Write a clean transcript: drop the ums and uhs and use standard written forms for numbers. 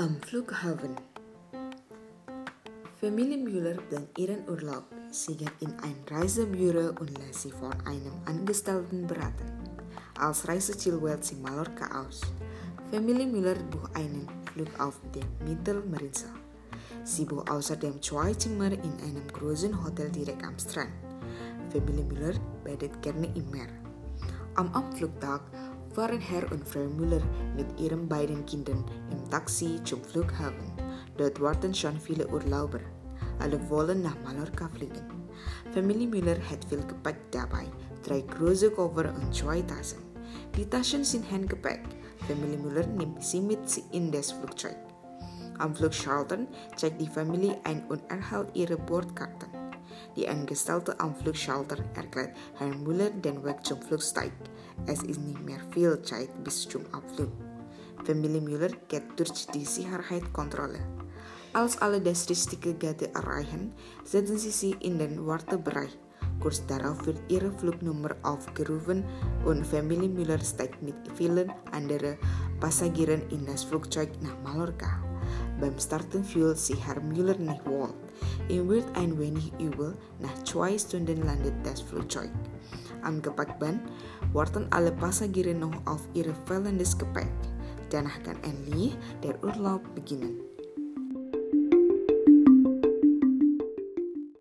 Am Flughafen. Familie Müller dan ihren Urlaub. Sie geht in ein Reisebüro und lässt sich von einem Angestellten beraten. Als Reiseziel wählt sie Mallorca aus. Familie Müller bucht einen Flug auf dem Mittelmeerinsel. Sie bucht außerdem 2 Zimmer in einem großen Hotel direkt am Strand. Familie Müller badet gerne im Meer. Am Abflugtag fahren Herr und Frau Müller mit ihren beiden Kindern im Taxi zum Flughafen. Dort warten schon viele Urlauber. Alle wollen nach Mallorca fliegen. Familie Müller hat viel Gepäck dabei, 3 große Koffer und 2 Taschen. Die Taschen sind Handgepäck. Familie Müller nimmt sie mit in das Flugzeug. Am Flugschalter checkt die Familie ein und erhält ihre Bordkarten. Die Angestellte am Flugschalter erklärt Herrn Müller den Weg zum Flugzeug. Es ist nicht mehr viel Zeit bis zum Abflug. Familie Müller geht durch die Sicherheitskontrolle. Als alle das richtige Gate erreichen, setzen sie sich in den Wartebereich. Kurz darauf wird ihre Flugnummer aufgerufen und Familie Müller steigt mit vielen anderen Passagieren in das Flugzeug nach Mallorca. Beim Starten fühlt sich Herr Müller nicht wohl. Ihm wird ein wenig übel. Nach 2 Stunden landet das Flugzeug. Am Gepäckband warten alle Passagiere noch auf ihr fehlendes Gepäck. Danach kann endlich der Urlaub beginnen.